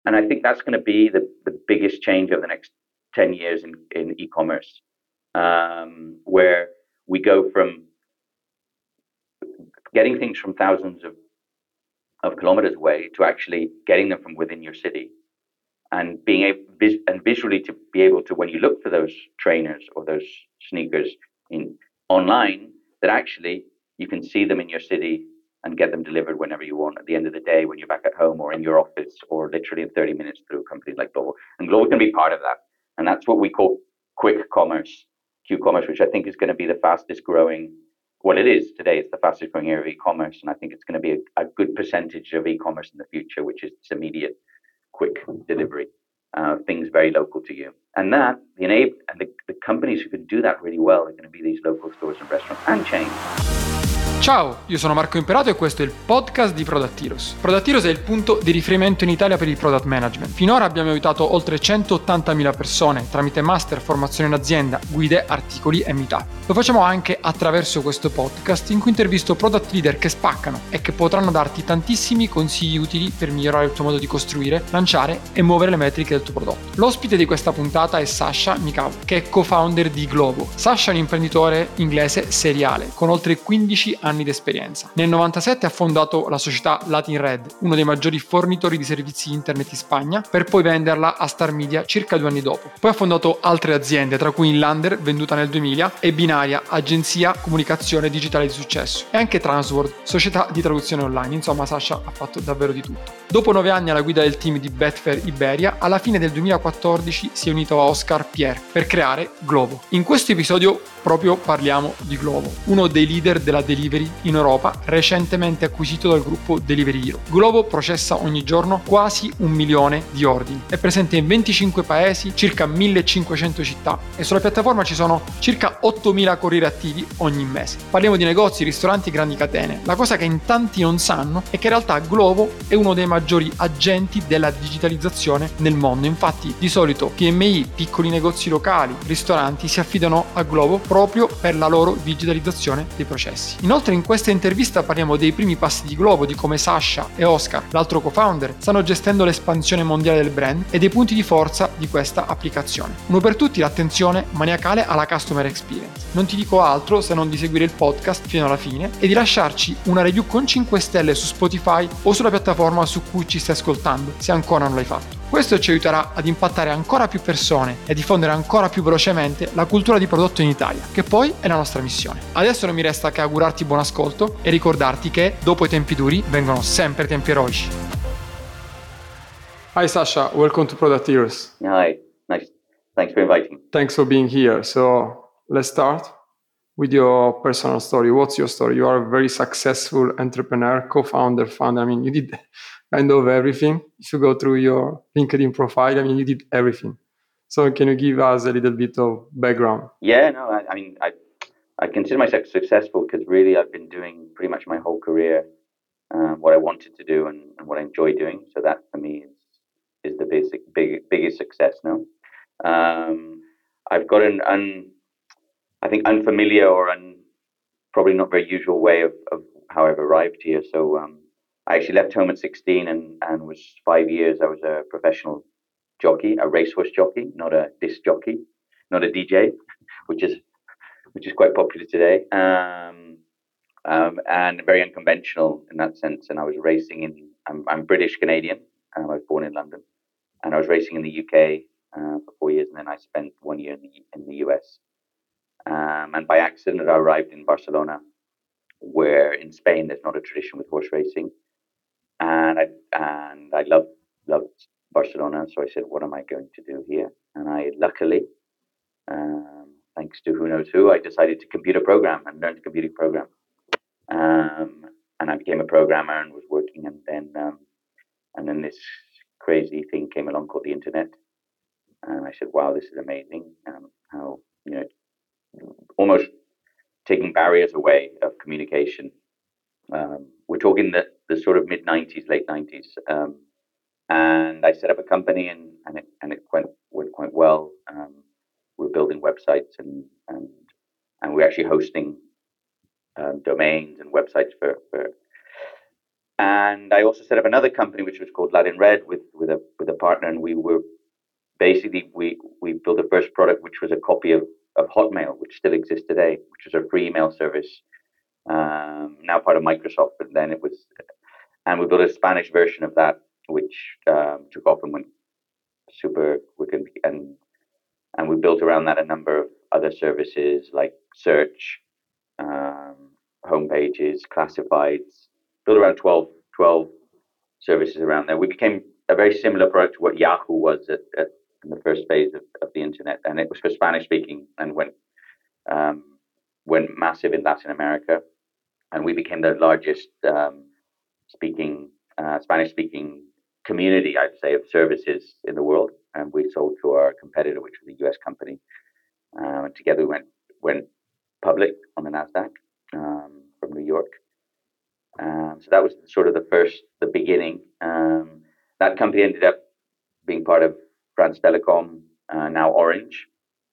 And I think that's going to be the biggest change over the next 10 years in e-commerce, where we go from getting things from thousands of kilometers away to actually getting them from within your city, and being able and visually to be able to, when you look for those trainers or those sneakers in online, that actually you can see them in your city and get them delivered whenever you want at the end of the day, when you're back at home or in your office, or literally in 30 minutes through companies like Global. And Global can be part of that. And that's what we call quick commerce, Q-commerce, which I think is going to be the fastest growing. Well, it is today. It's the fastest growing area of e-commerce. And I think it's going to be a good percentage of e-commerce in the future, which is this immediate, quick delivery, things very local to you. And that, the companies who can do that really well are going to be these local stores and restaurants and chains. Ciao, io sono Marco Imperato e questo è il podcast di Product Heroes. Product Heroes è il punto di riferimento in Italia per il product management. Finora abbiamo aiutato oltre 180.000 persone tramite master, formazione in azienda, guide, articoli e meetup. Lo facciamo anche attraverso questo podcast in cui intervisto product leader che spaccano e che potranno darti tantissimi consigli utili per migliorare il tuo modo di costruire, lanciare e muovere le metriche del tuo prodotto. L'ospite di questa puntata è Sasha Mikhail, che è co-founder di Glovo. Sasha è un imprenditore inglese seriale con oltre 15 anni di esperienza. Nel 97 ha fondato la società Latin Red, uno dei maggiori fornitori di servizi internet in Spagna, per poi venderla a Star Media circa 2 anni dopo. Poi ha fondato altre aziende, tra cui Inlander, venduta nel 2000, e Binaria, agenzia comunicazione digitale di successo, e anche Transworld, società di traduzione online. Insomma, Sasha ha fatto davvero di tutto. Dopo 9 anni alla guida del team di Betfair Iberia, alla fine del 2014 si è unito a Oscar Pierre per creare Glovo. In questo episodio proprio parliamo di Glovo, uno dei leader della delivery in Europa, recentemente acquisito dal gruppo Delivery Hero. Glovo processa ogni giorno quasi 1 milione di ordini, è presente in 25 paesi, circa 1500 città, e sulla piattaforma ci sono circa 8.000 corrieri attivi ogni mese. Parliamo di negozi, ristoranti e grandi catene. La cosa che in tanti non sanno è che in realtà Glovo è uno dei maggiori agenti della digitalizzazione nel mondo. Infatti, di solito PMI, piccoli negozi locali, ristoranti si affidano a Glovo proprio per la loro digitalizzazione dei processi. Inoltre in questa intervista parliamo dei primi passi di Glovo, di come Sasha e Oscar, l'altro co-founder, stanno gestendo l'espansione mondiale del brand e dei punti di forza di questa applicazione. Uno per tutti, l'attenzione maniacale alla customer experience. Non ti dico altro se non di seguire il podcast fino alla fine e di lasciarci una review con 5 stelle su Spotify o sulla piattaforma su cui ci stai ascoltando, se ancora non l'hai fatto. Questo ci aiuterà ad impattare ancora più persone e a diffondere ancora più velocemente la cultura di prodotto in Italia, che poi è la nostra missione. Adesso non mi resta che augurarti buon ascolto e ricordarti che dopo i tempi duri vengono sempre tempi eroici. Hi Sasha, welcome to Product Heroes. Hi, nice. Thanks for inviting. Thanks for being here. So let's start with your personal story. What's your story? You are a very successful entrepreneur, co-founder, founder. I mean, you did kind of everything. If you go through your LinkedIn profile, I mean, you did everything. So can you give us a little bit of background? Yeah, no, I consider myself successful because really I've been doing pretty much my whole career what I wanted to do and what I enjoy doing. So that for me is the biggest success. No, I've got I think unfamiliar or probably not very usual way of how I've arrived here. So I actually left home at 16 and was 5 years. I was a professional jockey, a racehorse jockey, not a disc jockey, not a DJ, which is quite popular today, and very unconventional in that sense. And I was racing I'm British Canadian. I was born in London, and I was racing in the UK for 4 years, and then I spent 1 year in the US. And by accident, I arrived in Barcelona, where in Spain there's not a tradition with horse racing, and I loved Barcelona. So I said, what am I going to do here? And I luckily, thanks to who knows who, I decided to computer program and learned to computer program. And I became a programmer and was working, and then this crazy thing came along called the internet, and I said, wow, this is amazing. How, almost taking barriers away of communication. We're talking the sort of mid 90s, late 90s. And I set up a company, and it went quite well. We're building websites and we're actually hosting domains and websites for And I also set up another company which was called Latin Red with a partner, and we were basically we built the first product which was a copy of Hotmail, which still exists today, which is a free email service, now part of Microsoft. But then it was, and we built a Spanish version of that, which took off and went super quick, and we built around that a number of other services like search, home pages, classifieds. Built around 12 services around there. We became a very similar product to what Yahoo was in the first phase of the internet, and it was for Spanish speaking and went massive in Latin America, and we became the largest Spanish speaking community, I'd say, of services in the world. And we sold to our competitor, which was a US company. And together we went public on the Nasdaq from New York. So that was sort of the beginning. That company ended up being part of France Telecom, now Orange,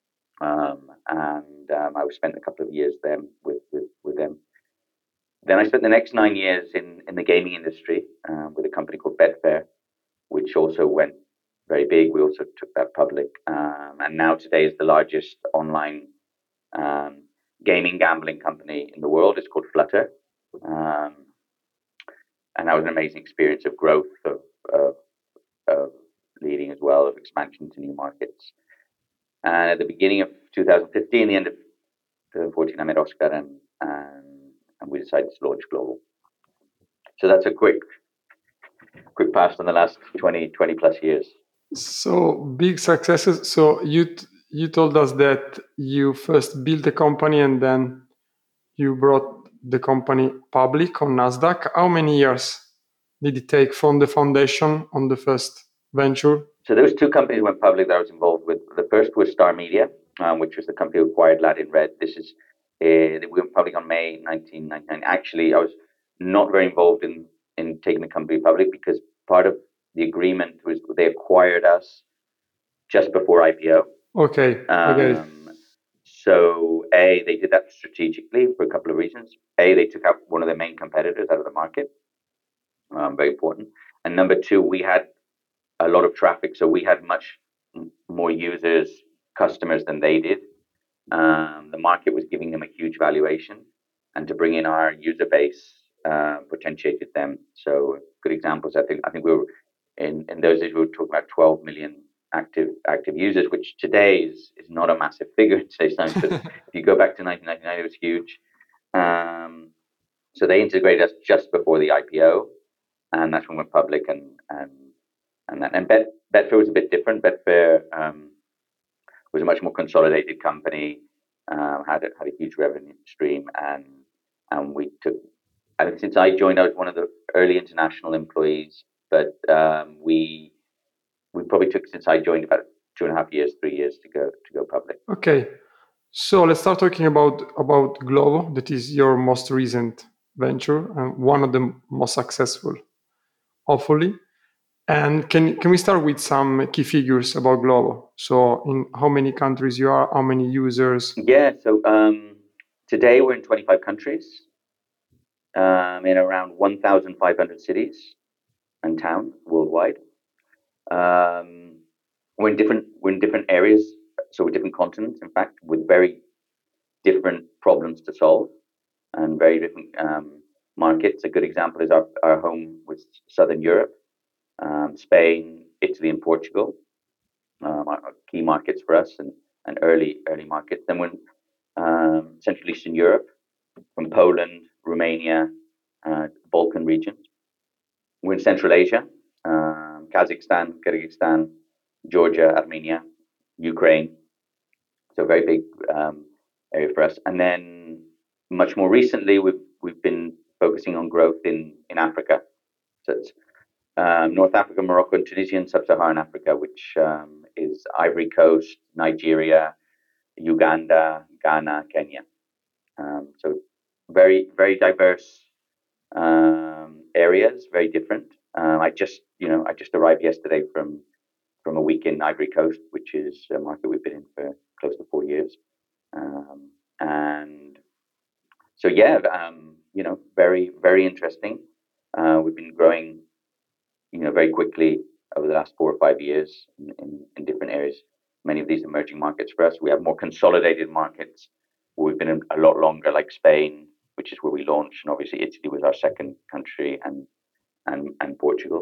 and I spent a couple of years then with them. Then I spent the next 9 years in the gaming industry with a company called Betfair, which also went very big. We also took that public, and now today is the largest online gaming gambling company in the world. It's called Flutter, and that was an amazing experience of growth, of leading as well, of expansion to new markets. And at the beginning of 2015, the end of 2014, I met Oscar, and we decided to launch Global. So that's a quick pass on the last 20 plus years. So big successes. So you told us that you first built a company and then you brought the company public on Nasdaq. How many years did it take from the foundation on the first venture? So there was 2 companies went public that I was involved with. The first was Star Media, which was the company who acquired Latin Red. We went public on May 1999. Actually, I was not very involved in taking the company public because part of the agreement was they acquired us just before IPO. Okay. Okay. So they did that strategically for a couple of reasons. They took out one of their main competitors out of the market. Very important. And number 2, we had a lot of traffic, so we had much more users, customers than they did. The market was giving them a huge valuation, and to bring in our user base potentiated them. So good examples. I think we were in those days we were talking about 12 million active users, which today is not a massive figure in today's time. But if you go back to 1999, it was huge. So they integrated us just before the IPO, and that's when we went public. And Betfair was a bit different. Betfair was a much more consolidated company, had a huge revenue stream, and we took. I think since I joined, I was one of the early international employees, but we probably took, since I joined, about 2.5 years, 3 years to go public. Okay, so let's start talking about Glovo. That is your most recent venture and one of the most successful, hopefully. And can we start with some key figures about Glovo? So in how many countries you are, how many users? Yeah, so today we're in 25 countries, in around 1,500 cities and towns worldwide. We're in different areas, so we're different continents, in fact, with very different problems to solve and very different markets. A good example is our home with Southern Europe, Spain, Italy, and Portugal, are key markets for us and early markets. Then we're in Central Eastern Europe, from Poland, Romania, Balkan regions. We're in Central Asia, Kazakhstan, Kyrgyzstan, Georgia, Armenia, Ukraine. So very big area for us. And then much more recently, we've been focusing on growth in Africa. So it's North Africa, Morocco, and Tunisia, and Sub-Saharan Africa, which is Ivory Coast, Nigeria, Uganda, Ghana, Kenya. So very, very diverse areas, very different. I just arrived yesterday from a week in Ivory Coast, which is a market we've been in for close to 4 years. And so, yeah, very, very interesting. We've been growing, very quickly over the last 4 or 5 years in different areas. Many of these emerging markets for us. We have more consolidated markets where we've been in a lot longer, like Spain, which is where we launched, and obviously Italy was our second country, and Portugal.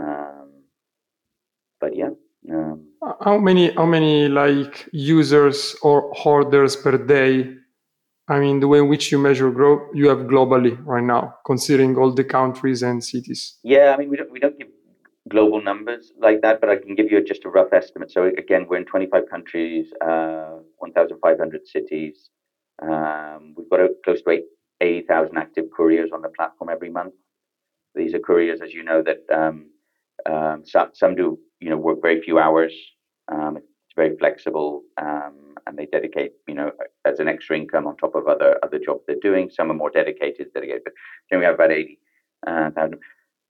But yeah. How many like users or orders per day? I mean, the way in which you measure growth, you have globally right now, considering all the countries and cities. Yeah, I mean, we don't give global numbers like that, but I can give you just a rough estimate. So again, we're in 25 countries, 1,500 cities. We've got close to 80,000 active couriers on the platform every month. These are couriers, as you know, that some do work very few hours. It's very flexible, and they dedicate as an extra income on top of other jobs they're doing. Some are more dedicated, but then we have about 80,000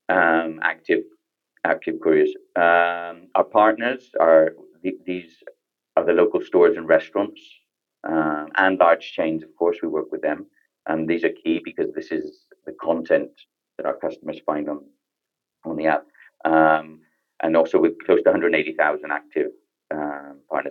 active couriers. Our partners are these are the local stores and restaurants, and large chains. Of course, we work with them, and these are key because this is the content that our customers find on the app. And also with close to 180,000 active partners,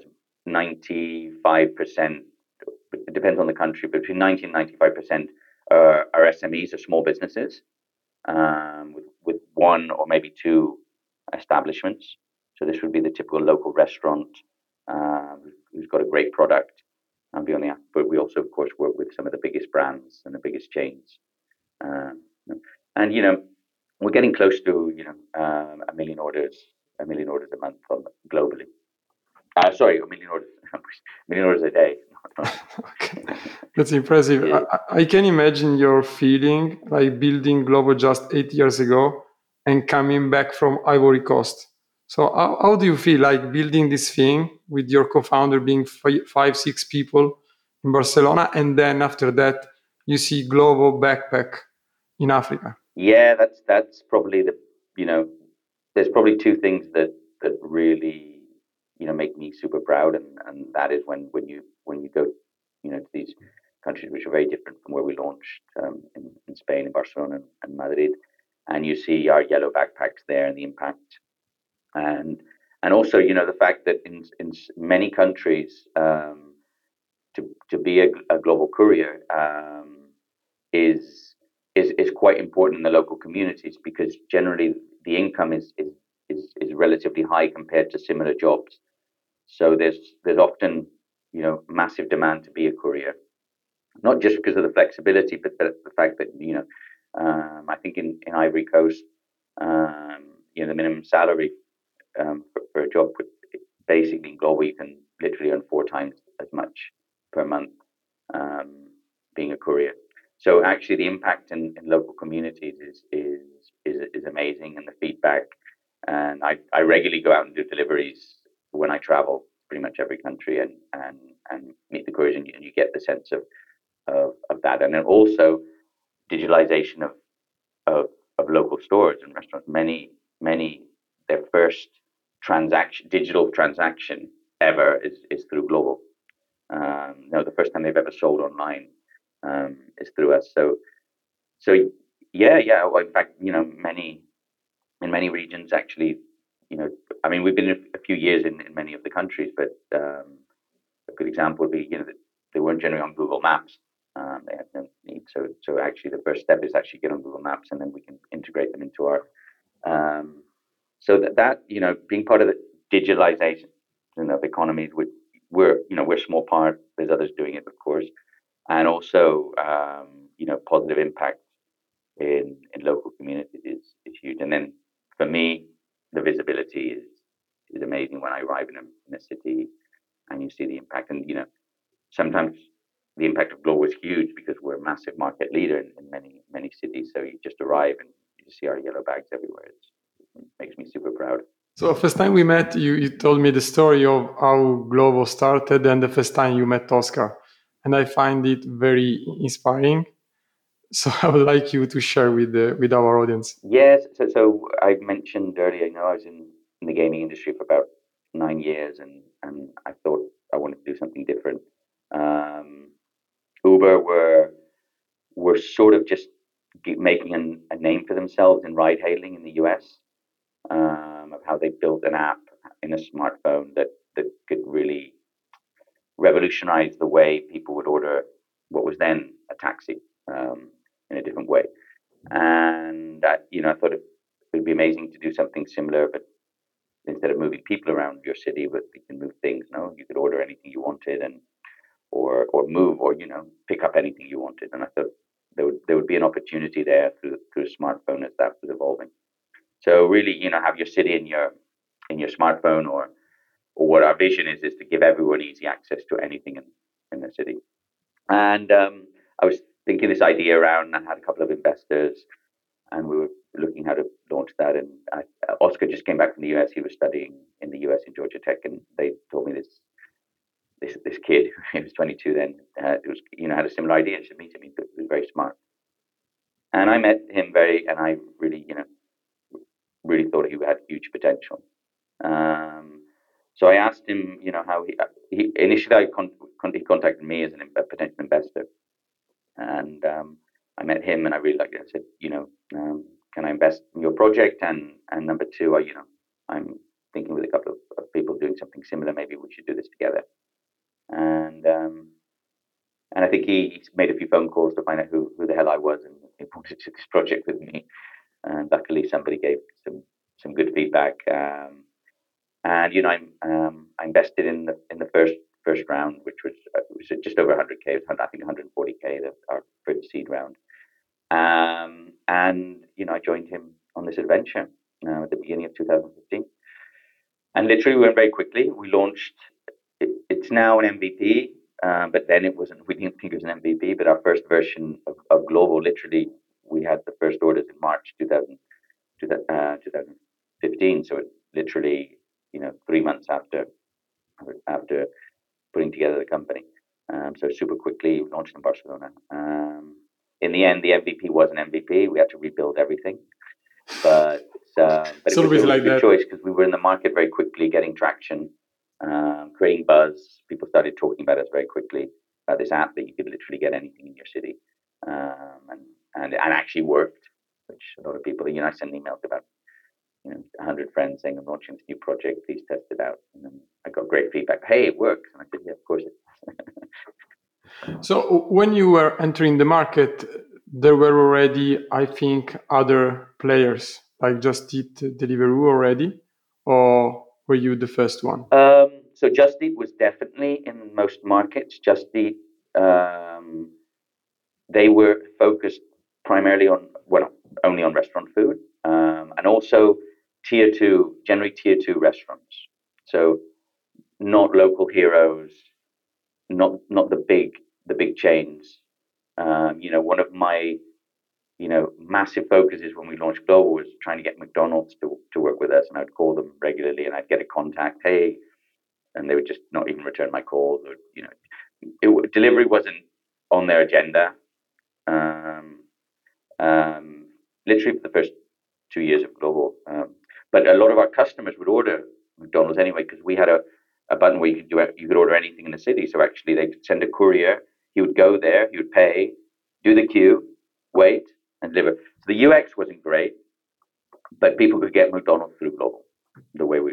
95%. It depends on the country, but between 90 and 95% are SMEs, or small businesses, with one or maybe two establishments. So this would be the typical local restaurant who's got a great product and be on the app. But we also, of course, work with some of the biggest brands and the biggest chains. And we're getting close to a million orders a month globally. Sorry, a million orders, a million orders a day. Okay, that's impressive. Yeah. I can imagine your feeling like building Glovo just 8 years ago and coming back from Ivory Coast. So how do you feel like building this thing with your co-founder being 5, 6 people in Barcelona, and then after that you see Glovo backpack in Africa? Yeah, that's probably there's probably two things that really make me super proud, and that is when you go to these countries which are very different from where we launched, in Spain, in Barcelona and Madrid, and you see our yellow backpacks there and the impact, and also the fact that in many countries, to be a global courier, is quite important in the local communities, because generally the income is relatively high compared to similar jobs. So there's often massive demand to be a courier, not just because of the flexibility, but the fact that I think in Ivory Coast, the minimum salary for a job basically in Glovo, you can literally earn 4 times as much per month, being a courier. So actually, the impact in local communities is amazing, and the feedback. And I regularly go out and do deliveries when I travel, pretty much every country, and meet the couriers, and you get the sense of that. And then also digitalization of local stores and restaurants. Many their first digital transaction ever is through Glovo. The first time they've ever sold online is through us. So yeah. Well, in fact, in many regions, actually, I mean, we've been a few years in many of the countries, but a good example would be, that they weren't generally on Google Maps. They had no need. So actually, the first step is actually get on Google Maps, and then we can integrate them into our. So that being part of the digitalization of economies, we're a small part. There's others doing it, of course, and also positive impact in local communities is huge. And then for me, the visibility is amazing when I arrive in a city and you see the impact. And sometimes the impact of Glovo is huge because we're a massive market leader in many cities. So you just arrive and you see our yellow bags everywhere. It makes me super proud. So first time we met, you told me the story of how Glovo started and the first time you met Oscar. And I find it very inspiring. So I would like you to share with our audience. Yes. So I mentioned earlier, I was in the gaming industry for about 9 years, and I thought I wanted to do something different. Uber were sort of just making a name for themselves in ride hailing in the US, of how they built an app in a smartphone that could really revolutionize the way people would order what was then a taxi, in a different way. And I thought it would be amazing to do something similar, but instead of moving people around your city, but you can move things. No, you could order anything you wanted, and or move, or pick up anything you wanted. And I thought there would be an opportunity there through a smartphone as that was evolving. So really, have your city in your smartphone, or what our vision is to give everyone easy access to anything in the city. And I was thinking this idea around, and I had a couple of investors, and we were looking how to launch that. And Oscar just came back from the US. He was studying in the US in Georgia Tech, and they told me this kid, he was 22 then, had a similar idea. I should meet him. He was very smart. And I met him and I really, really thought he had huge potential. So I asked him, how he initially he contacted me as a potential investor, and I met him, and I really liked it. I said, can I invest in your project? And number two, I'm thinking with a couple of people doing something similar. Maybe we should do this together. And I think he made a few phone calls to find out who the hell I was, and he wanted to do this project with me. And luckily, somebody gave some good feedback. And I invested in the first round, which was just over 100K. It was, I think, 140K, our first seed round. And I joined him on this adventure at the beginning of 2015. And literally, we went very quickly. We launched. It's now an MVP, but then it wasn't. We didn't think it was an MVP. But our first version of Global, literally, we had the first orders in March 2015. So it literally, 3 months after putting together the company. So super quickly launched in Barcelona. In the end, the MVP was an MVP. We had to rebuild everything, but it was a good choice because we were in the market very quickly, getting traction, creating buzz. People started talking about us very quickly, about this app that you could literally get anything in your city, and actually worked. Which a lot of people, I send emails about 100 friends saying I'm launching this new project. Please test it out. And then I got great feedback. Hey, it works. And I said, yeah, of course it does. So when you were entering the market, there were already, I think, other players like Just Eat, Deliveroo already, or were you the first one? So Just Eat was definitely in most markets. Just Eat, they were focused primarily only on restaurant food, and also generally tier two restaurants. So not local heroes, not the big chains. One of my massive focuses when we launched Global was trying to get McDonald's to work with us, and I'd call them regularly, and I'd get a contact, hey, and they would just not even return my calls, or delivery wasn't on their agenda. Literally for the first 2 years of Global, but a lot of our customers would order McDonald's anyway because we had a button where you could order anything in the city. So actually, they could send a courier. He would go there. He would pay, do the queue, wait, and deliver. So the UX wasn't great, but people could get McDonald's through Global the way we.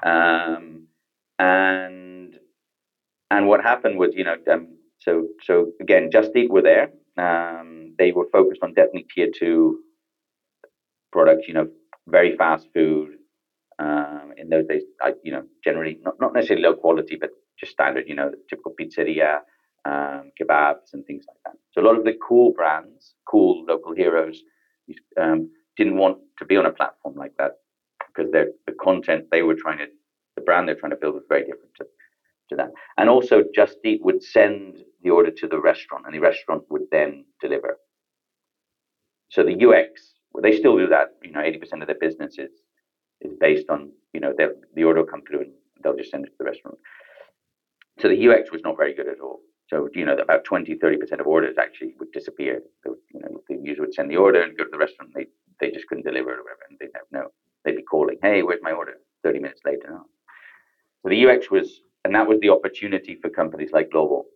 And what happened was, so again, Just Eat were there. They were focused on definitely tier two products, very fast food. In those days, generally not necessarily low quality, but just standard, typical pizzeria, kebabs and things like that. So a lot of the cool brands, cool local heroes, didn't want to be on a platform like that because the content the brand they're trying to build was very different to that. And also Just Eat would send the order to the restaurant, and the restaurant would then deliver. So the UX, they still do that. 80% of their business is based on, the order will come through and they'll just send it to the restaurant. So the UX was not very good at all. So, about 20-30% of orders actually would disappear. The user would send the order and go to the restaurant. They just couldn't deliver it or whatever. And they'd be calling, hey, where's my order? 30 minutes later. No. So the UX that was the opportunity for companies like Global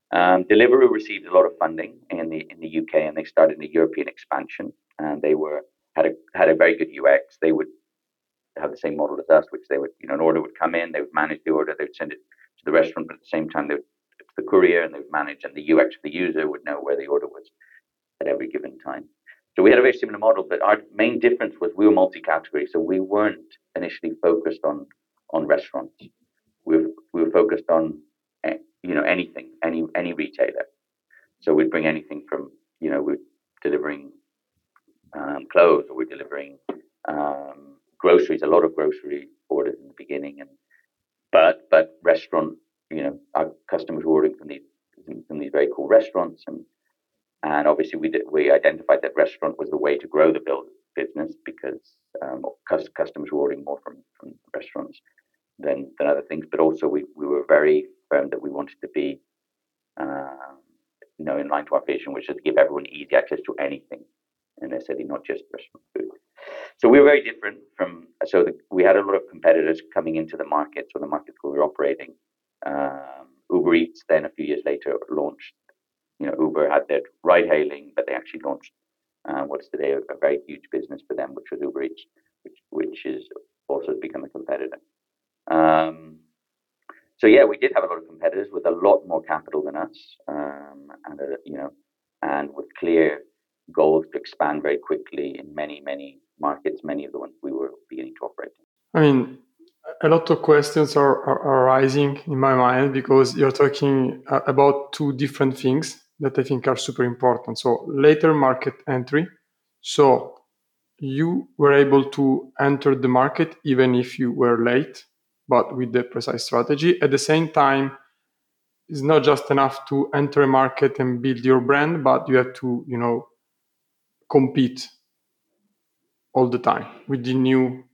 Deliveroo received a lot of funding in the UK, and they started the European expansion. And they had a very good UX. They would have the same model as us, which they would, an order would come in, they would manage the order, they would send it to the restaurant, but at the same time they would to the courier, and they would manage, and the UX for the user would know where the order was at every given time. So we had a very similar model, but our main difference was we were multi-category, so we weren't initially focused on restaurants. We were focused on anything, any retailer. So we'd bring anything from we're delivering clothes, or we're delivering groceries, a lot of grocery orders in the beginning, but restaurant, our customers were ordering from these very cool restaurants, and obviously we identified that restaurant was the way to grow the business, because customers were ordering more from restaurants than other things. But also we were very firm that we wanted to be in line to our vision, which is to give everyone easy access to anything in their city, not just restaurant food. So we were very different we had a lot of competitors coming into the markets, or the markets where we were operating. Uber Eats then a few years later launched. Uber had their ride hailing, but they actually launched what's today a very huge business for them, which was Uber Eats, which is also become a competitor. So yeah, we did have a lot of competitors with a lot more capital than us, and with clear goals to expand very quickly in many markets, many of the ones we were beginning to operate in. I mean, a lot of questions are arising in my mind, because you're talking about two different things that I think are super important. So later market entry. So you were able to enter the market even if you were late, but with the precise strategy. At the same time, it's not just enough to enter a market and build your brand, but you have to, compete all the time with the new,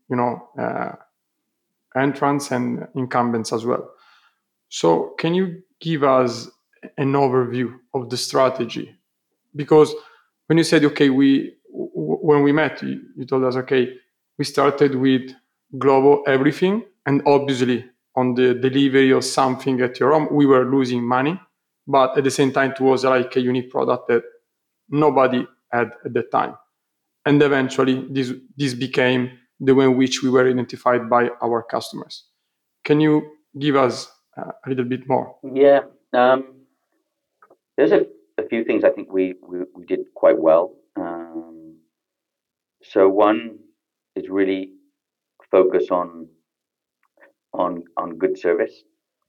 entrants and incumbents as well. So can you give us an overview of the strategy? Because when you said, okay, when we met, you told us, okay, we started with Glovo everything, and obviously on the delivery of something at your home, we were losing money, but at the same time, it was like a unique product that nobody had at the time. And eventually, this became the way in which we were identified by our customers. Can you give us a little bit more? Yeah, there's a few things I think we did quite well. So one is really focus on good service.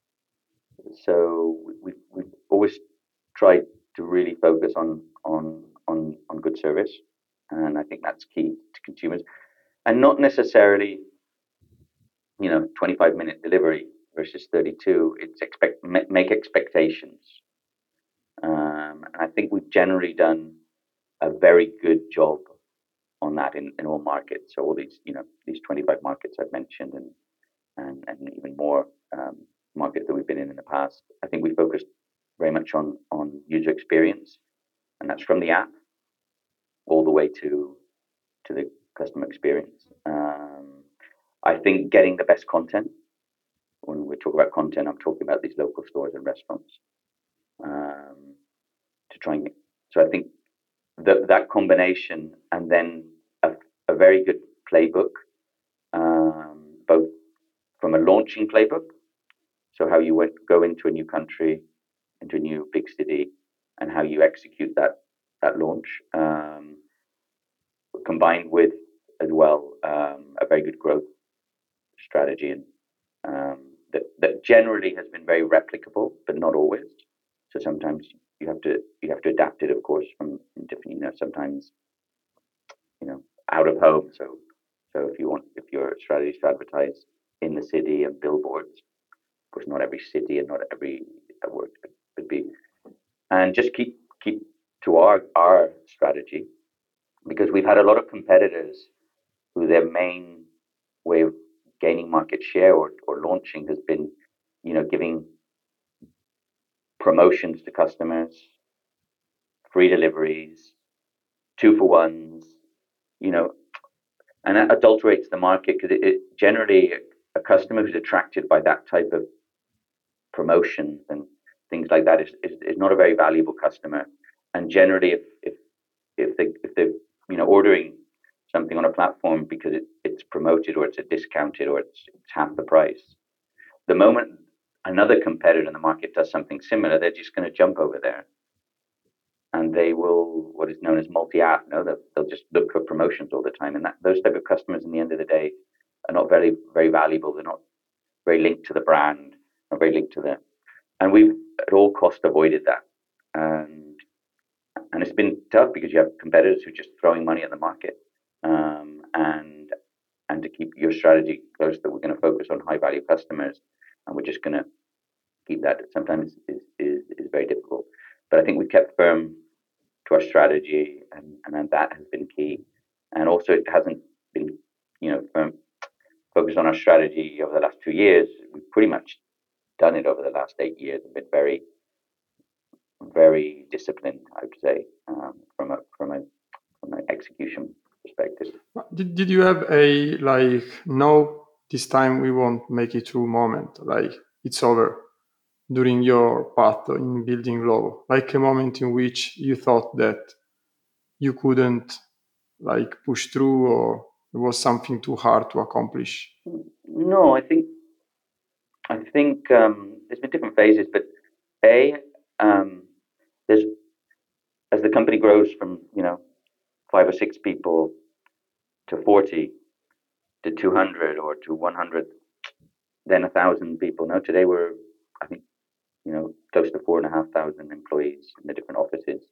So we've always tried to really focus on good service, and I think that's key to consumers, and not necessarily 25-minute delivery versus 32. It's make expectations, and I think we've generally done a very good job on that in all markets. So all these 25 markets I've mentioned, and even more markets that we've been in the past. I think we focused very much on user experience, and that's from the app all the way to the customer experience. I think getting the best content. When we talk about content, I'm talking about these local stores and restaurants. So I think that combination, and then a very good playbook, both from a launching playbook, so how you would go into a new country, into a new big city, and how you execute that launch, combined with as well a very good growth strategy, and that generally has been very replicable, but not always. So sometimes you have to adapt it, of course, from different. Sometimes out of home. So if your strategy is to advertise in the city and billboards, of course, not every city and not every work could be, and just keep to our strategy, because we've had a lot of competitors who their main way of gaining market share or launching has been, giving promotions to customers, free deliveries, 2-for-1s, and that adulterates the market, because it generally, a customer who's attracted by that type of promotion, and things like that is not a very valuable customer. And generally, if they ordering something on a platform because it's promoted or it's a discounted or it's half the price, the moment another competitor in the market does something similar, they're just going to jump over there, and they will what is known as multi-app. No, they'll just look for promotions all the time, and those type of customers, in the end of the day, are not very very valuable. They're not very linked to the brand, not very linked to the. And we've at all cost avoided that, and it's been tough because you have competitors who are just throwing money at the market, and to keep your strategy close, that we're going to focus on high value customers, and we're just going to keep that. Sometimes is very difficult, but I think we kept firm to our strategy, and that has been key. And also, it hasn't been firm, focused on our strategy over the last 2 years. We've pretty much done it over the last 8 years. Been very very disciplined, I would say, from an execution perspective. Did you have a no, this time we won't make it through moment, like it's over, during your path in building Glovo, like a moment in which you thought that you couldn't push through, or it was something too hard to accomplish? No, I think there's been different phases, but there's as the company grows from 5 or 6 people to 40 to 200 or to 100, then 1,000 people. Now today we're, I think, close to 4,500 employees in the different offices,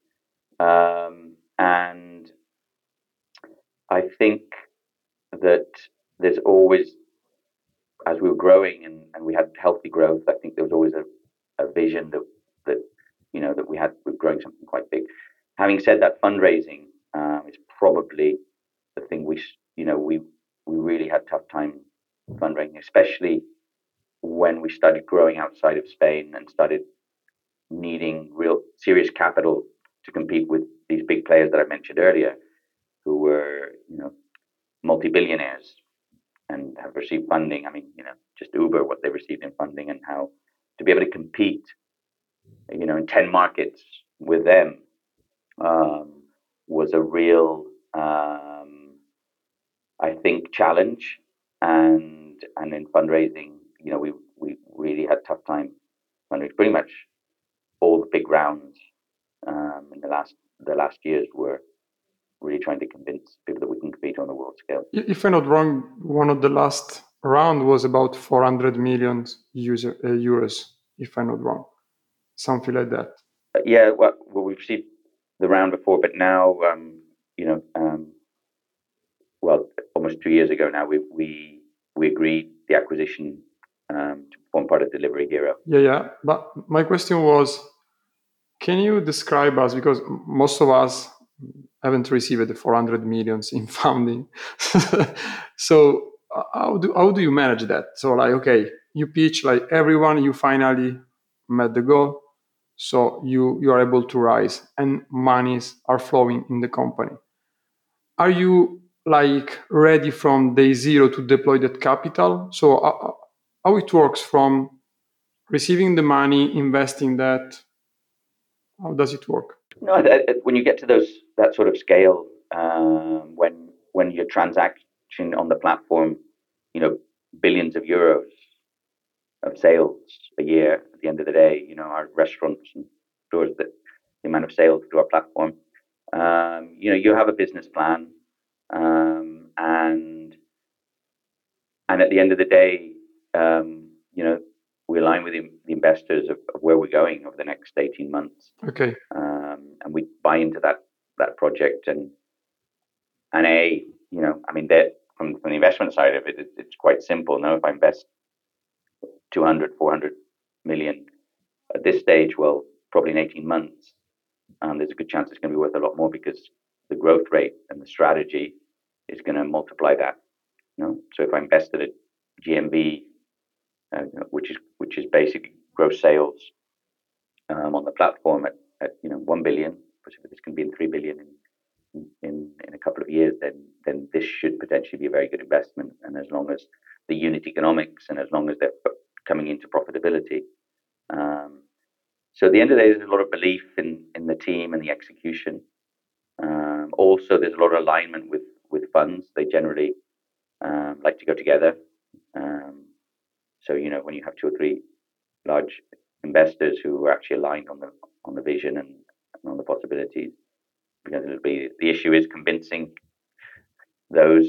and I think that there's always, as we were growing and we had healthy growth, I think there was always a vision that we're growing something quite big. Having said that, fundraising is probably the thing we really had tough time fundraising, especially when we started growing outside of Spain and started needing real serious capital to compete with these big players that I mentioned earlier, who were multi-billionaires and have received funding. I mean, just Uber, what they received in funding, and how to be able to compete, in 10 markets with them was a real, I think, challenge. And in fundraising, we really had a tough time fundraising. Pretty much all the big rounds in the last years were really trying to convince people that we can compete on the world scale. If I'm not wrong, one of the last round was about 400 million euros, if I'm not wrong, something like that. Yeah, well, we've received the round before, but now, almost 2 years ago now, we agreed the acquisition to form part of Delivery Hero. Yeah. But my question was, can you describe us, because most of us haven't received the 400 millions in funding. So how do you manage that? So okay, you pitch everyone, you finally met the goal, so you are able to rise and monies are flowing in the company. Are you ready from day zero to deploy that capital? So how it works from receiving the money, investing that? How does it work? No, when you get to that sort of scale, when your transaction on the platform, billions of euros of sales a year. At the end of the day, our restaurants and stores, that the amount of sales through our platform, you have a business plan, and at the end of the day, we align with the investors of where we're going over the next 18 months. Okay. And we buy into that project, and that from the investment side of it, it's quite simple. Now, if I invest 200, 400 million at this stage, well, probably in 18 months, there's a good chance it's going to be worth a lot more, because the growth rate and the strategy is going to multiply that. So if I invested at GMV, which is basically gross sales on the platform at 1 billion, which this can be in 3 billion in a couple of years, then this should potentially be a very good investment. And as long as the unit economics, and as long as they're coming into profitability, So at the end of the day, there's a lot of belief in the team and the execution. Also, there's a lot of alignment with funds. They generally like to go together. So when you have two or three large investors who are actually aligned on the vision and on the possibilities, because the issue is convincing those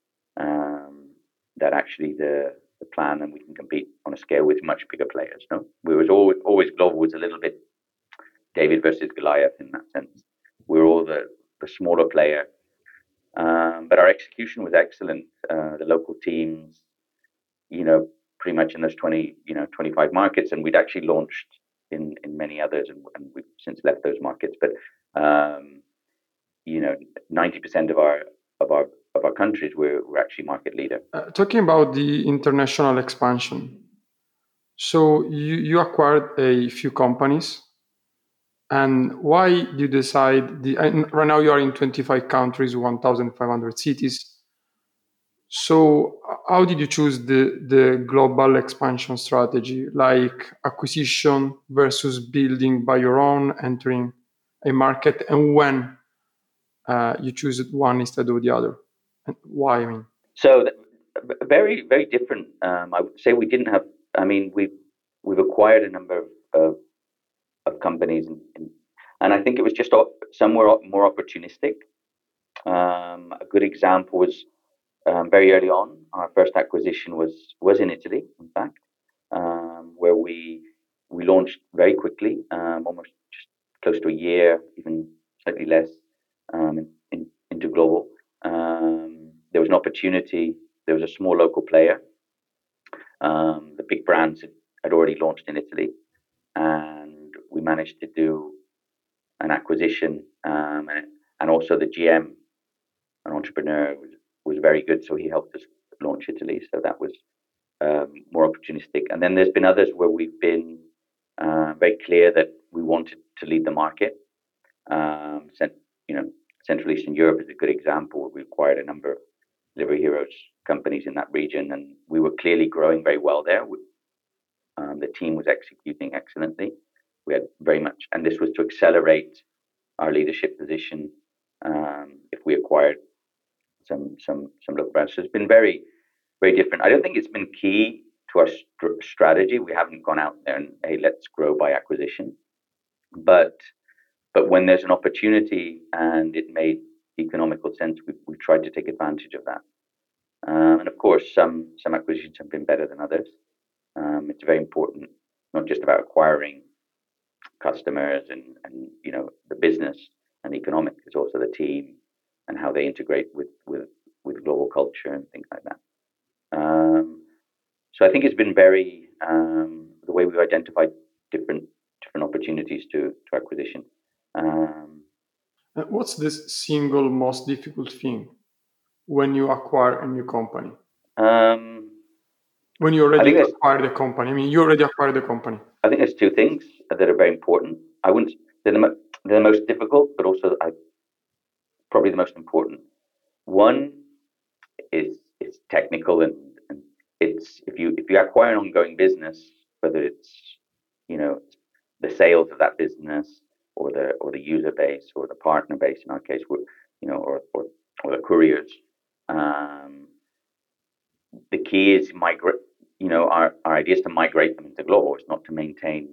that actually the plan and we can compete on a scale with much bigger players. No, we was always global was a little bit David versus Goliath in that sense. We were all the smaller player, but our execution was excellent. The local teams, pretty much in those 25 markets, and we'd actually launched in many others, and we've since left those markets. But 90% of our countries we're actually market leader. Talking about the international expansion, so you acquired a few companies, and why did you decide right now you are in 25 countries, 1,500 cities. So how did you choose the global expansion strategy, like acquisition versus building by your own, entering a market, and when you choose one instead of the other, and why? I mean, so very very different. I would say we didn't have. I mean, we've acquired a number of companies, and I think it was just somewhere more opportunistic. A good example was very early on. Our first acquisition was in Italy, in fact, where we launched very quickly, almost just close to a year, even slightly less, into global. There was an opportunity. There was a small local player. The big brands had already launched in Italy, and we managed to do an acquisition. And also the GM, an entrepreneur, was very good, so he helped us launch Italy. So that was more opportunistic. And then there's been others where we've been very clear that we wanted to lead the market. Central Eastern Europe is a good example. We acquired a number of Delivery Heroes companies in that region, and we were clearly growing very well there. The team was executing excellently. We had very much, and this was to accelerate our leadership position. If we acquired some local brands, so it's been very, very different. I don't think it's been key to our strategy. We haven't gone out there and, hey, let's grow by acquisition. But when there's an opportunity and it made economical sense, we tried to take advantage of that. And of course, some acquisitions have been better than others. It's very important, not just about acquiring customers and the business and economics. It's also the team and how they integrate with global culture and things like that. So I think it's been very the way we've identified different opportunities to acquisition. what's the single most difficult thing when you acquire a new company? When you already acquire the company, I mean, you already acquired the company. I think there's two things that are very important. I wouldn't. They're the most difficult, but also probably the most important. One is technical, and it's if you acquire an ongoing business, whether it's the sales of that business or the user base or the partner base in our case, or the couriers. The key is migrate. Our idea is to migrate them into global. It's not to maintain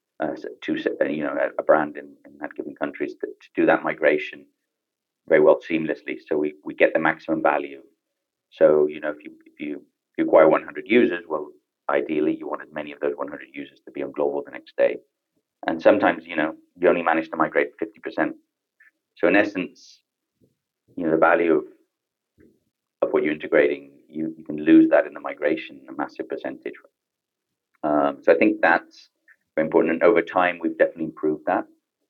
a brand in that given countries. To do that migration very well seamlessly, so we get the maximum value. So if you acquire 100 users, well, ideally you want as many of those 100 users to be on global the next day. And sometimes you only manage to migrate 50%. So in essence, the value of what you're integrating, you can lose that in the migration, a massive percentage. So I think that's very important, and over time we've definitely improved that.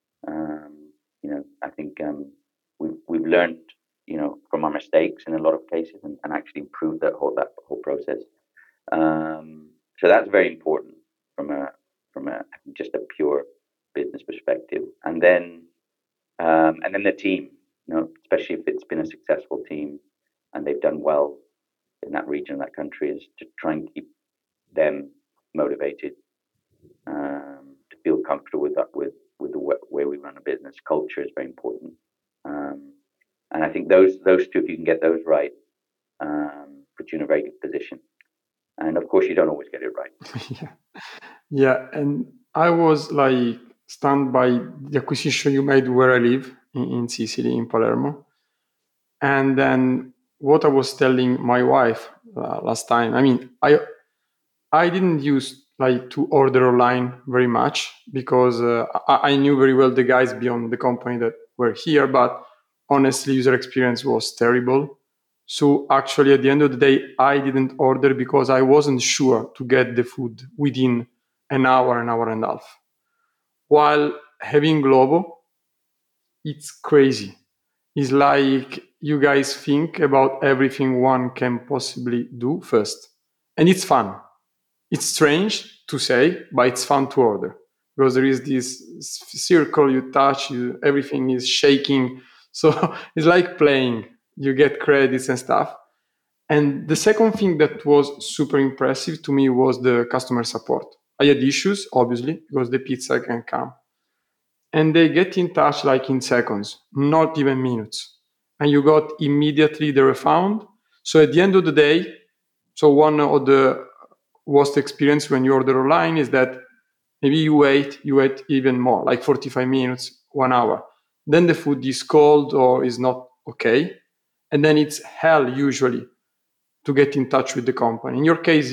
I think we've learned from our mistakes in a lot of cases, and actually improved that whole process. So that's very important from a just a pure business perspective, and then the team, especially if it's been a successful team and they've done well in that region, that country, is to try and keep them motivated, to feel comfortable with that, with the way we run a business. Culture is very important, and I think those two, if you can get those right, put you in a very good position. And of course, you don't always get it right. Yeah. Yeah, and I was like stunned by the acquisition you made where I live in Sicily, in Palermo. And then what I was telling my wife last time, I mean, I didn't use like to order online very much because I knew very well the guys beyond the company that were here, but honestly, user experience was terrible. So actually, at the end of the day, I didn't order because I wasn't sure to get the food within an hour and a half. While having Globo, it's crazy. It's like you guys think about everything one can possibly do first. And it's fun. It's strange to say, but it's fun to order because there is this circle you touch, everything is shaking. So it's like playing. You get credits and stuff. And the second thing that was super impressive to me was the customer support. I had issues, obviously, because the pizza can come. And they get in touch like in seconds, not even minutes. And you got immediately the refund. So at the end of the day, so one of the worst experience when you order online is that maybe you wait even more, like 45 minutes, 1 hour. Then the food is cold or is not okay. And then it's hell usually to get in touch with the company. In your case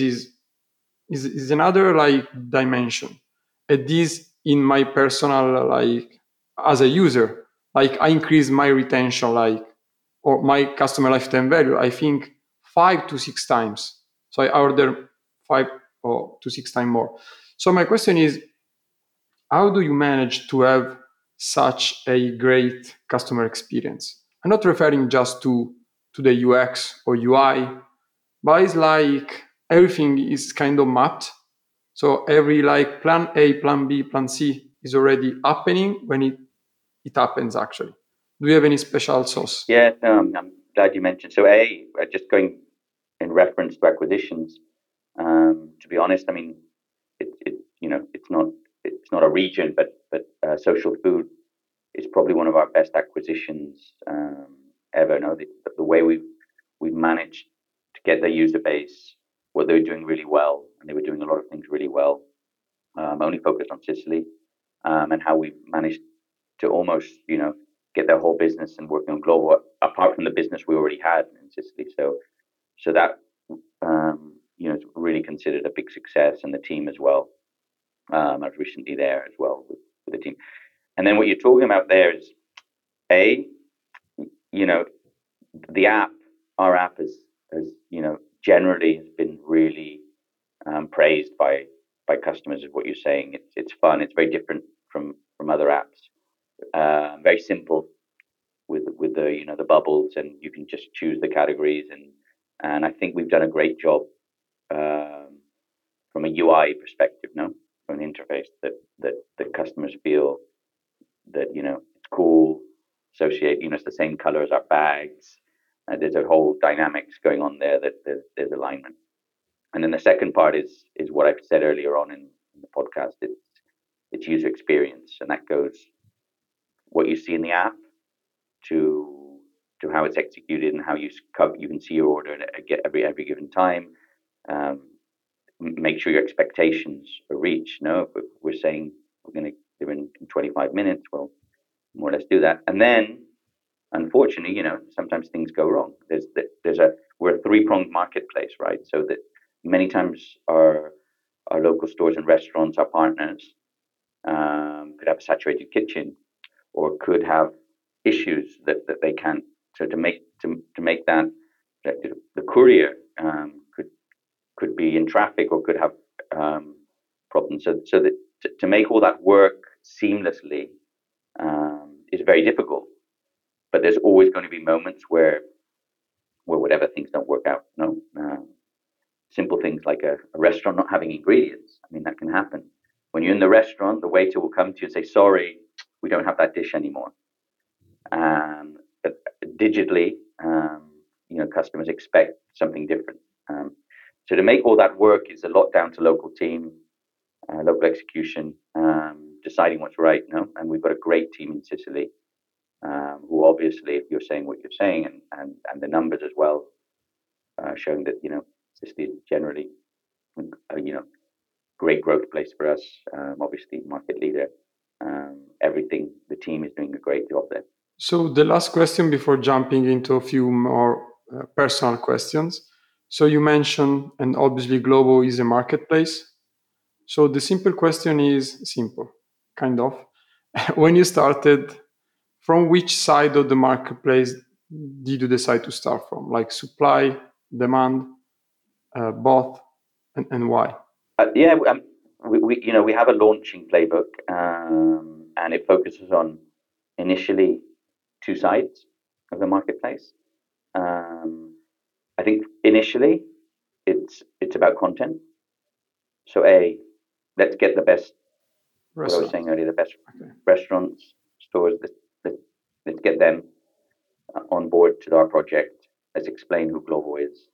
is another like dimension. At this in my personal like as a user, like I increase my retention like or my customer lifetime value, I think 5 to 6 times. So I order 5 or to 6 times more. So my question is, how do you manage to have such a great customer experience? I'm not referring just to the UX or UI, but it's like everything is kind of mapped. So every like plan A, plan B, plan C is already happening when it happens actually. Do you have any special sauce? Yeah, no, I'm glad you mentioned. So, just going in reference to acquisitions. To be honest, I mean, it's not a region, but Social Food is probably one of our best acquisitions ever. No, the way we've managed to get their user base, what they were doing really well, and they were doing a lot of things really well. Only focused on Sicily, and how we managed to almost get their whole business and working on global, apart from the business we already had in Sicily. So that it's really considered a big success, and the team as well. I was recently there as well with the team. And then what you're talking about there is a you know the app. Our app has generally has been really praised by customers. Is what you're saying. It's fun. It's very different from other apps. Very simple with the bubbles, and you can just choose the categories, and I think we've done a great job from a UI perspective, no, from an interface that customers feel that it's cool, associate, it's the same color as our bags. There's a whole dynamics going on there that there's alignment. And then the second part is what I've said earlier on in the podcast. It's user experience, and that goes what you see in the app to how it's executed and how you can see your order at every given time. Make sure your expectations are reached. No, if we're saying we're going to give in 25 minutes, well, more or less do that. And then, unfortunately, sometimes things go wrong. We're a three-pronged marketplace, right? So that many times our local stores and restaurants, our partners, could have a saturated kitchen, or could have issues that they can't. So to make that the courier could be in traffic or could have problems. So that to make all that work seamlessly is very difficult. But there's always going to be moments where whatever things don't work out. No, simple things like a restaurant not having ingredients. I mean, that can happen. When you're in the restaurant, the waiter will come to you and say, "Sorry, we don't have that dish anymore." But digitally, customers expect something different. So to make all that work is a lot down to local team, local execution, deciding what's right. No, and we've got a great team in Sicily, who obviously, if you're saying what you're saying, and the numbers as well, showing that Sicily is generally great growth place for us. Obviously, market leader. Everything the team is doing a great job there. So the last question before jumping into a few more personal questions. So you mentioned, and obviously Glovo is a marketplace. So the simple question is simple, kind of. When you started, from which side of the marketplace did you decide to start from? Like supply, demand, both, and why? Yeah, we have a launching playbook, and it focuses on initially two sides of the marketplace. I think initially it's about content. So let's get the best. What I was saying earlier, the best restaurants, stores. Let's get them on board to our project. Let's explain who Glovo is,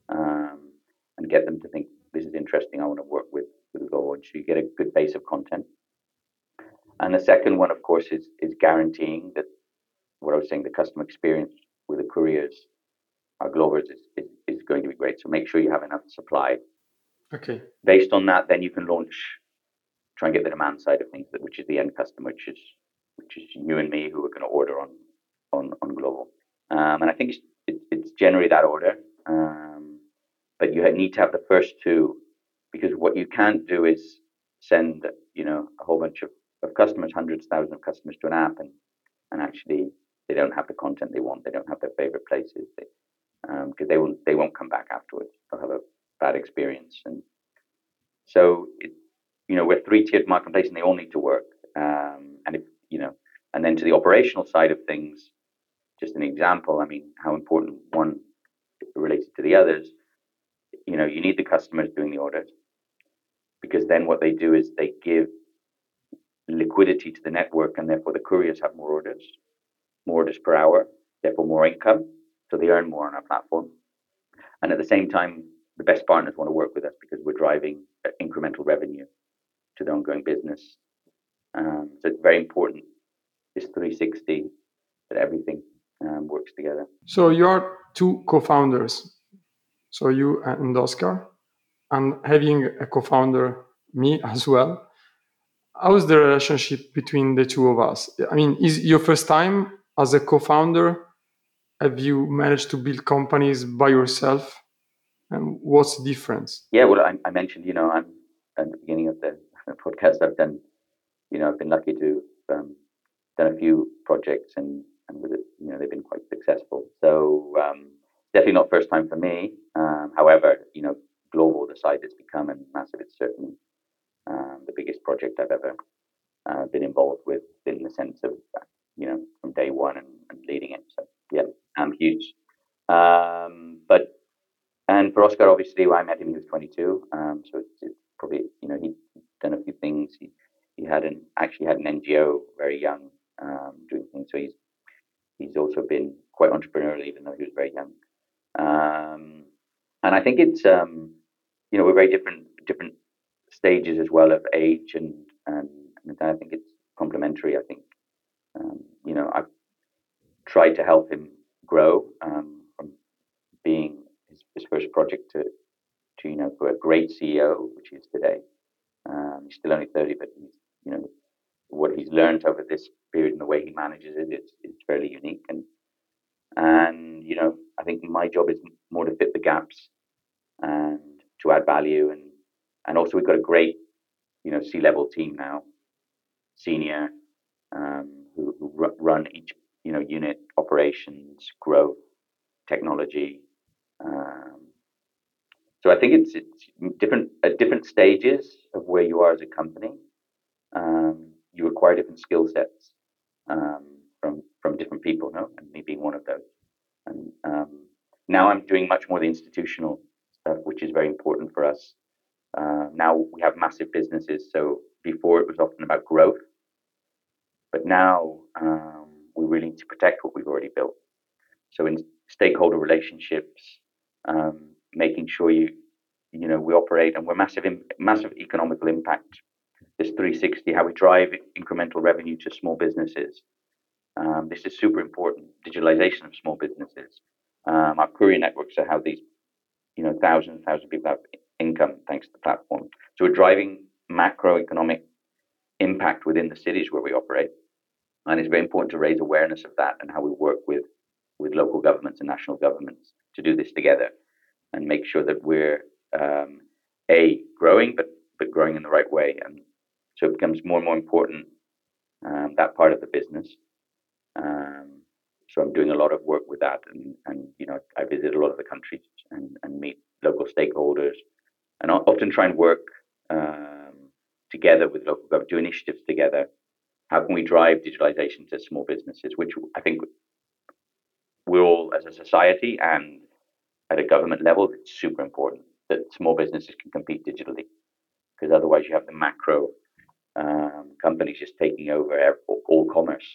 and get them to think this is interesting. I want to work with Glovo, and so you get a good base of content. And the second one, of course, is guaranteeing that what I was saying, the customer experience with the couriers, our Glovers, is going to be great. So make sure you have enough supply. Okay. Based on that, then you can try and get the demand side of things, which is the end customer, which is you and me who are going to order on Glovo. And I think it's generally that order. But you need to have the first two, because what you can't do is send a whole bunch of customers, hundreds, thousands of customers to an app, and actually they don't have the content they want. They don't have their favorite places, because they won't come back afterwards. They'll have a bad experience. And so we're three-tiered marketplace, and they all need to work. And if and then to the operational side of things, just an example. I mean, how important one related to the others. You need the customers doing the orders, because then what they do is they give liquidity to the network, and therefore the couriers have more orders per hour, therefore more income, so they earn more on our platform. And at the same time, the best partners want to work with us because we're driving incremental revenue to the ongoing business. So it's very important, this 360, that everything works together. So you are two co-founders, so you and Oscar, and having a co-founder, me as well. How is the relationship between the two of us? I mean, is your first time as a co-founder? Have you managed to build companies by yourself? And what's the difference? Yeah, well, I mentioned, I'm at the beginning of the podcast. I've done, I've been lucky to done a few projects, and with it, they've been quite successful. So definitely not first time for me. However, Glovo, the site has become a massive. It's certainly the biggest project I've ever been involved with, in the sense of from day one and leading it. So yeah, huge. And for Oscar, obviously, when I met him, he was 22. So it's probably he'd done a few things. He actually had an NGO very young, doing things. So he's also been quite entrepreneurial, even though he was very young. And I think it's we're very different stages as well of age, and I think it's complementary. I think I've tried to help him grow from being his first project to for a great CEO, which he is today. He's still only 30, but what he's learned over this period and the way he manages it, it's fairly unique. And I think my job is more to fit the gaps and to add value, and also we've got a great C-level team now, senior, who run each unit, operations, growth, technology. So I think it's different at different stages of where you are as a company. You acquire different skill sets from different people, and me being one of those. And now I'm doing much more the institutional stuff, which is very important for us. Now we have massive businesses, so before it was often about growth, but now we really need to protect what we've already built. So in stakeholder relationships, making sure you we operate, and we're massive economical impact. This 360, how we drive incremental revenue to small businesses. This is super important. Digitalization of small businesses. Our courier networks are how these, thousands and thousands of people have income thanks to the platform. So we're driving macroeconomic impact within the cities where we operate, and it's very important to raise awareness of that and how we work with local governments and national governments to do this together and make sure that we're growing, but growing in the right way. And so it becomes more and more important, that part of the business. So I'm doing a lot of work with that, and I visit a lot of the countries and meet local stakeholders, and I often try and work together with local government, do initiatives together. How can we drive digitalization to small businesses, which I think we're all, as a society and at a government level, it's super important that small businesses can compete digitally, because otherwise you have the macro companies just taking over all commerce.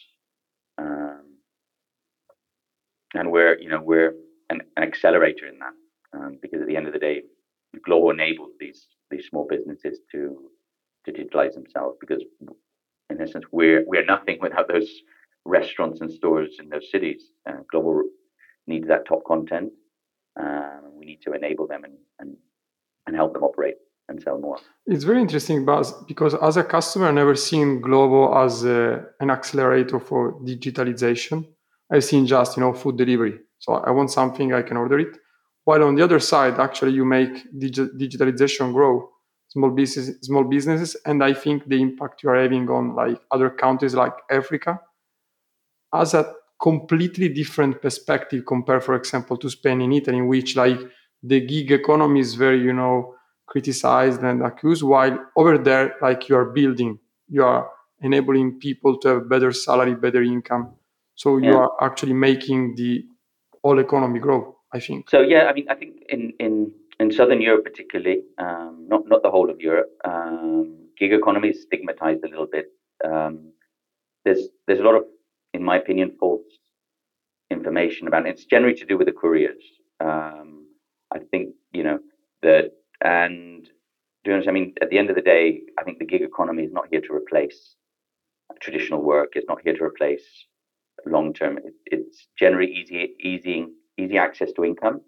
And we're an accelerator in that, because at the end of the day, Glovo enables these small businesses to digitalize themselves, because in essence we're nothing without those restaurants and stores in those cities. Glovo needs that top content. We need to enable them and help them operate and sell more. It's very interesting, Buzz, because as a customer, I've never seen Glovo as an accelerator for digitalization. I've seen just, food delivery. So I want something, I can order it. While on the other side, actually, you make digitalization grow, small businesses, and I think the impact you are having on like other countries like Africa has a completely different perspective compared, for example, to Spain and Italy, in which like the gig economy is very, criticized and accused, while over there, like you are enabling people to have better salary, better income. So you are actually making the whole economy grow, I think. So yeah, I mean, I think in Southern Europe particularly, not the whole of Europe, gig economy is stigmatized a little bit. There's a lot of, in my opinion, false information about it. It's generally to do with the couriers. I think that, and to be honest, I mean, at the end of the day, I think the gig economy is not here to replace traditional work. It's not here to replace long term. It's generally easy access to income,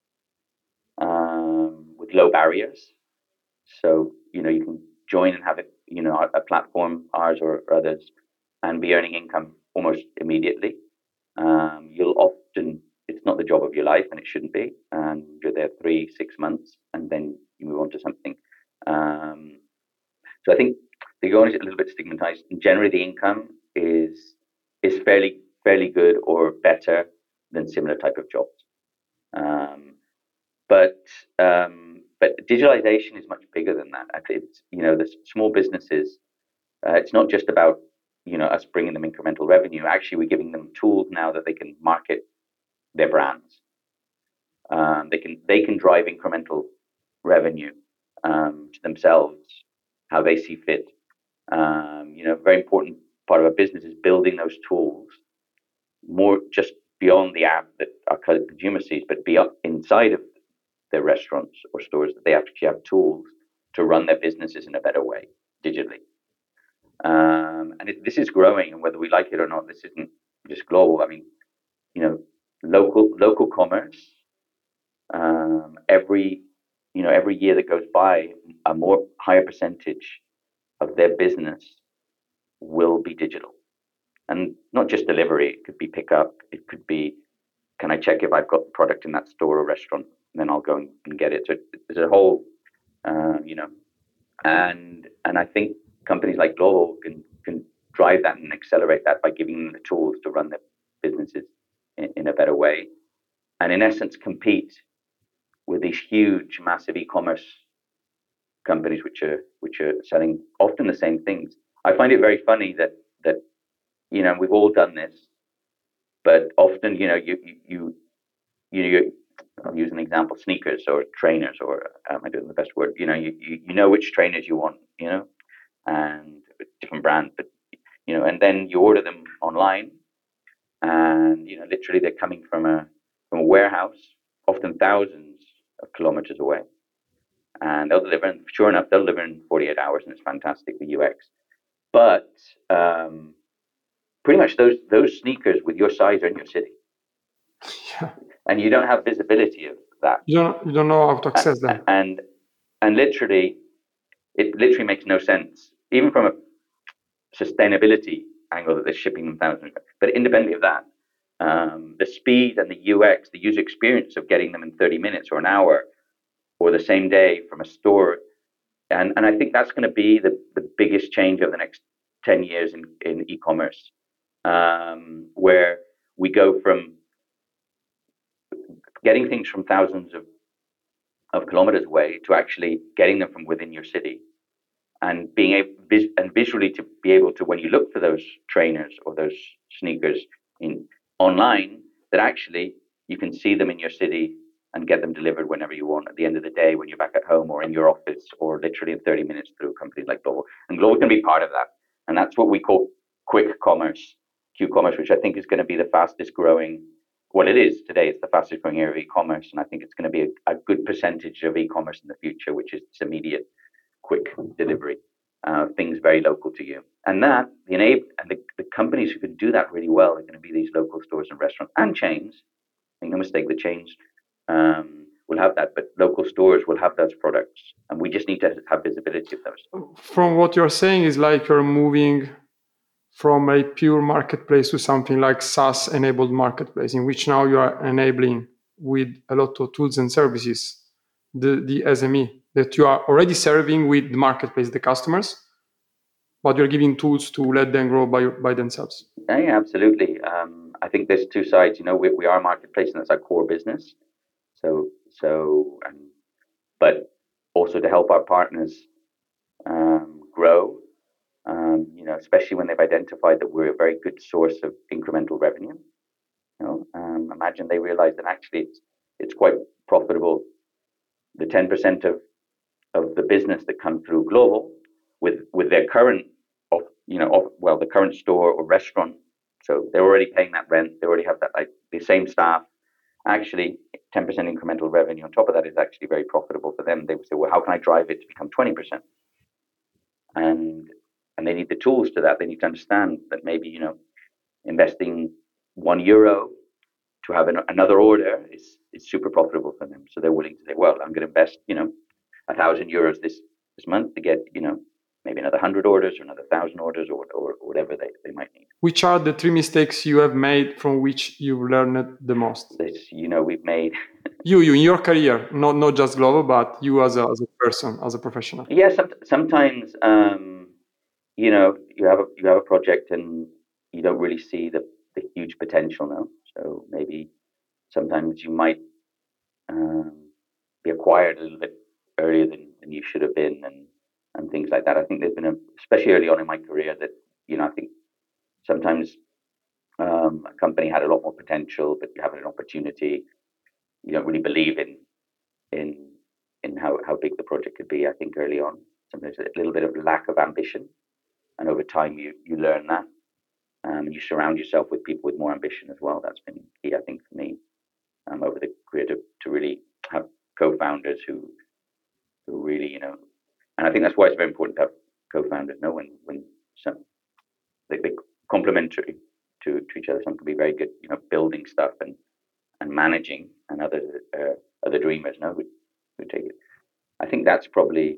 with low barriers. So you can join and have it, a platform, ours or others, and be earning income almost immediately. You'll often, it's not the job of your life, and it shouldn't be. And you're there 3-6 months, and then you move on to something. So I think the gig economy is a little bit stigmatized. And generally, the income is fairly good or better than similar type of jobs. But digitalization is much bigger than that. It's the small businesses. It's not just about us bringing them incremental revenue. Actually, we're giving them tools now that they can market their brands. They can drive incremental revenue to themselves how they see fit. A very important part of our business is building those tools more just beyond the app that our consumer sees, but beyond inside of their restaurants or stores, that they actually have tools to run their businesses in a better way digitally. This is growing, and whether we like it or not, this isn't just global. I mean, local commerce. Every year that goes by, a more higher percentage of their business will be digital, and not just delivery. It could be pickup. It could be, can I check if I've got product in that store or restaurant, and then I'll go and get it. So there's a whole, and I think companies like Glovo can drive that and accelerate that by giving them the tools to run their businesses in a better way, and in essence compete with these huge, massive e-commerce companies which are selling often the same things. I find it very funny that we've all done this, but often I'll use an example: sneakers or trainers, or am I doing the best word? You know which trainers you want, and different brands, but and then you order them online, and literally they're coming from a warehouse, often thousands of kilometers away, and they'll deliver. And sure enough, they'll deliver in 48 hours, and it's fantastic, the UX. But pretty much those sneakers with your size are in your city, and you don't have visibility of that. You don't know how to access them. And literally, it literally makes no sense, even from a sustainability angle, that they're shipping them thousands. But independently of that, the speed and the UX, the user experience of getting them in 30 minutes or an hour or the same day from a store, and I think that's going to be the biggest change over the next 10 years in e-commerce, where we go from getting things from thousands of kilometers away to actually getting them from within your city, and being able and visually to be able to, when you look for those trainers or those sneakers in online, that actually you can see them in your city and get them delivered whenever you want at the end of the day, when you're back at home or in your office, or literally in 30 minutes through companies like Global. And Global can be part of that. And that's what we call quick commerce, Q-commerce, which I think is going to be the fastest growing. Well, it is today. It's the fastest growing area of e-commerce. And I think it's going to be a good percentage of e-commerce in the future, which is this immediate, quick delivery, things very local to you. And that, the companies who can do that really well are going to be these local stores and restaurants and chains. Make no mistake, the chains will have that, but local stores will have those products, and we just need to have visibility of those. From what you're saying, is like you're moving from a pure marketplace to something like SaaS-enabled marketplace, in which now you are enabling with a lot of tools and services the SME that you are already serving with the marketplace, the customers, but you're giving tools to let them grow by themselves. Yeah, absolutely. I think there's two sides. We are a marketplace, and that's our core business. But also to help our partners grow. Especially when they've identified that we're a very good source of incremental revenue. Imagine they realize that actually it's quite profitable. The 10% of the business that comes through Global with their current the current store or restaurant, so they're already paying that rent. They already have that, like, the same staff. Actually, 10% incremental revenue on top of that is actually very profitable for them. They would say, well, how can I drive it to become 20%? And they need the tools to that. They need to understand that maybe investing €1 to have another order is super profitable for them. So they're willing to say, well, I'm going to invest €1,000 this month to get maybe another 100 orders or another 1,000 orders or whatever they might need. Which are the 3 mistakes you have made from which you've learned the most? We've made you in your career, not just Global, but you as a person, as a professional. Yeah, sometimes you have a project and you don't really see the huge potential now. So maybe sometimes you might be acquired a little bit earlier than you should have been, and things like that. I think there's been especially early on in my career, that I think sometimes a company had a lot more potential, but you have an opportunity, you don't really believe in how big the project could be. I think early on, sometimes a little bit of lack of ambition, and over time you learn that, and you surround yourself with people with more ambition as well. That's been key, I think, for me over the career, to really have co-founders who really, and I think that's why it's very important to have co-founders. When they're complementary to each other. Some can be very good, building stuff and managing, and others are the dreamers, who take it. I think that's probably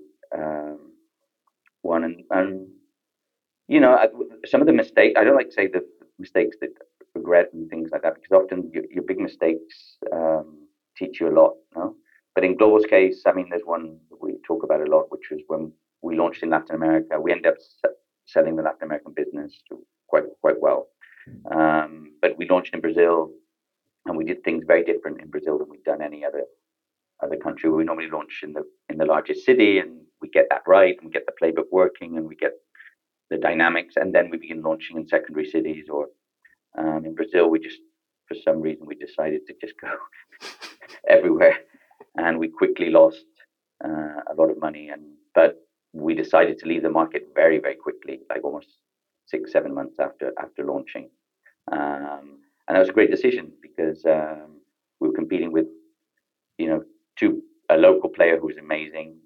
one. And some of the mistakes, I don't like to say the mistakes that regret and things like that, because often your big mistakes teach you a lot. But in Global's case, I mean, there's one that we talk about a lot, which was when we launched in Latin America. We ended up selling the Latin American business quite well. But we launched in Brazil, and we did things very different in Brazil than we've done any other country. We normally launch in the largest city, and we get that right, and we get the playbook working, and we get the dynamics, and then we begin launching in secondary cities. Or in Brazil, for some reason, we decided to just go everywhere, and we quickly lost a lot of money. But we decided to leave the market very, very quickly, like almost 6-7 months after launching. And that was a great decision, because we were competing with a local player who was amazing,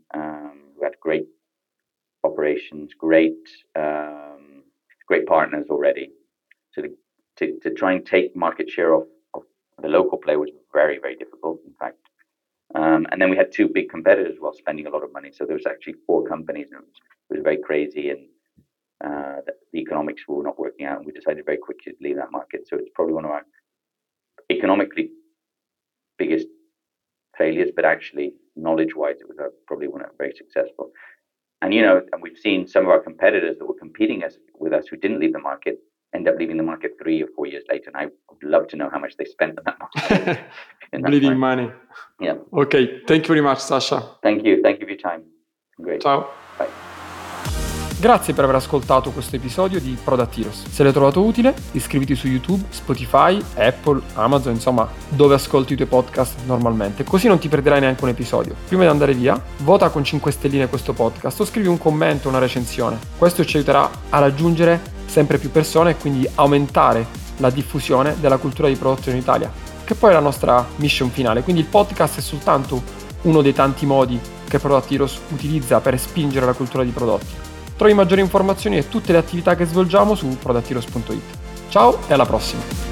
who had great operations, great partners already. So to try and take market share of the local player was very, very difficult, in fact. And then we had two big competitors while spending a lot of money. So there was actually 4 companies, and it was very crazy, and the economics were not working out, and we decided very quickly to leave that market. So it's probably one of our economically biggest failures, but actually knowledge-wise, it was probably one of very successful. And and we've seen some of our competitors that were competing with us who didn't leave the market end up leaving the market 3 or 4 years later. And I would love to know how much they spent on that market. Bleeding money. Yeah. Ok, thank you very much, Sasha. Thank you for your time. Great. Ciao. Bye. Grazie per aver ascoltato questo episodio di Product Heroes. Se l'hai trovato utile, iscriviti su YouTube, Spotify, Apple, Amazon, insomma, dove ascolti i tuoi podcast normalmente, così non ti perderai neanche un episodio. Prima di andare via, vota con 5 stelline questo podcast o scrivi un commento, una recensione. Questo ci aiuterà a raggiungere sempre più persone e quindi aumentare la diffusione della cultura di prodotto in Italia, che poi è la nostra mission finale. Quindi il podcast è soltanto uno dei tanti modi che Product Heroes utilizza per spingere la cultura di prodotti. Trovi maggiori informazioni e tutte le attività che svolgiamo su productheroes.it. Ciao e alla prossima!